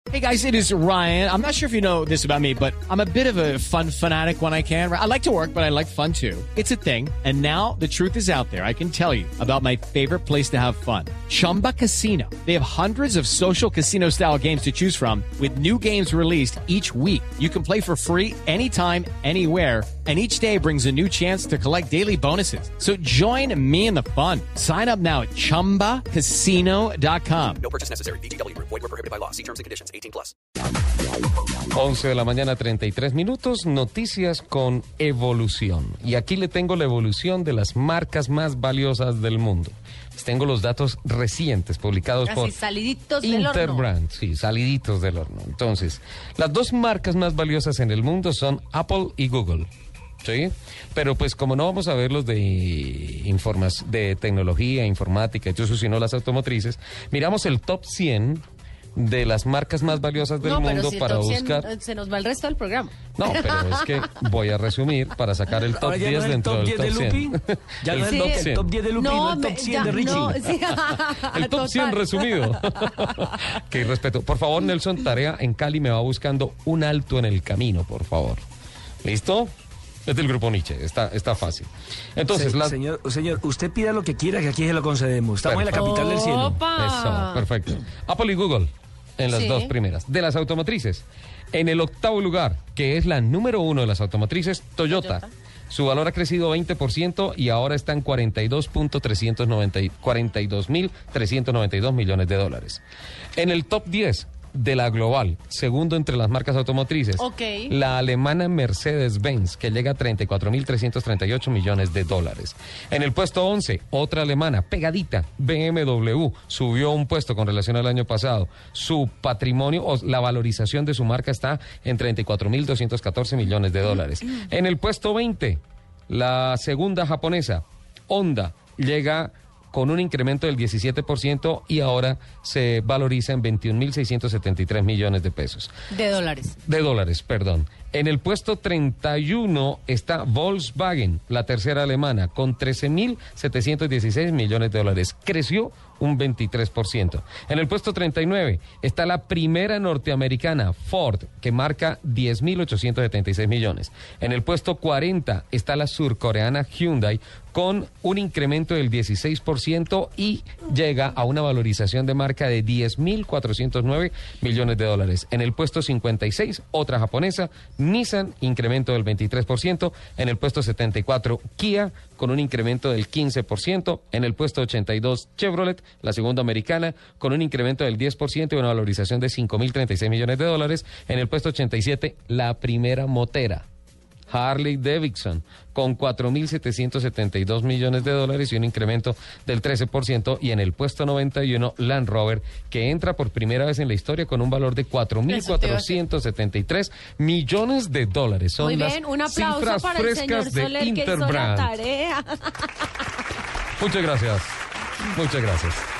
Hey guys, it is Ryan. I'm not sure if you know this about me, but I'm a bit of a fun fanatic when I can. I like to work, but I like fun too. It's a thing. And now the truth is out there. I can tell you about my favorite place to have fun. Chumba Casino. They have hundreds of social casino style games to choose from with new games released each week. You can play for free anytime, anywhere. And each day brings a new chance to collect daily bonuses. So join me in the fun. Sign up now at ChumbaCasino.com. No purchase necessary. VGW Group. Void where prohibited by law. See terms and conditions. 18+. 11 de la mañana, 33 minutos. Noticias con evolución. Y aquí le tengo la evolución de las marcas más valiosas del mundo. Les tengo los datos recientes publicados Casi por saliditos del horno. Interbrand. Sí, saliditos del horno. Entonces, las dos marcas más valiosas en el mundo son Apple y Google. ¿Sí? Pero pues como no vamos a ver los de tecnología, informática y todo eso, sino las automotrices, miramos el top 100 de las marcas más valiosas del mundo si para top 100, buscar... se nos va el resto del programa. No, pero es que voy a resumir para sacar el top Ahora ya 10 no es el dentro top del 10 de top Lupi. 100. Ya no es el top 100. el top 10 de Lupi, no el top 100 de Richie. El top 100 resumido. Qué respeto. Por favor, Nelson, tarea en Cali me va buscando un alto en el camino, por favor. ¿Listo? Es del grupo Nietzsche, está fácil. Entonces, Señor, usted pida lo que quiera, que aquí se lo concedemos. Estamos en la capital del cielo. ¡Opa! Eso, perfecto. Apple y Google en las dos primeras. De las automotrices, en el octavo lugar, que es la número 1 de las automotrices, Toyota. Su valor ha crecido 20% y ahora está en 42.392 millones de dólares. En el top 10 de la global, segundo entre las marcas automotrices, la alemana Mercedes-Benz, que llega a 34.338 millones de dólares. En el puesto 11, otra alemana, pegadita, BMW, subió un puesto con relación al año pasado. Su patrimonio, o la valorización de su marca está en 34.214 millones de dólares. En el puesto 20, la segunda japonesa, Honda, llega con un incremento del 17% y ahora se valoriza en 21.673 millones de pesos. De dólares. De dólares, perdón. En el puesto 31 está Volkswagen, la tercera alemana, con 13.716 millones de dólares. Creció un 23%. En el puesto 39 está la primera norteamericana, Ford, que marca 10.876 millones. En el puesto 40 está la surcoreana Hyundai, con un incremento del 16% y llega a una valorización de marca de 10.409 millones de dólares. En el puesto 56, otra japonesa, Nissan, incremento del 23%. En el puesto 74, Kia, con un incremento del 15%. En el puesto 82, Chevrolet, la segunda americana, con un incremento del 10% y una valorización de 5.036 millones de dólares. En el puesto 87, la primera motera, Harley Davidson, con 4.772 millones de dólares y un incremento del 13%. Y en el puesto 91, Land Rover, que entra por primera vez en la historia con un valor de 4.473 millones de dólares. Son muy bien, un aplauso cifras para el señor frescas de Soler, que hizo la Interbrand. tarea. Muchas gracias. Muchas gracias.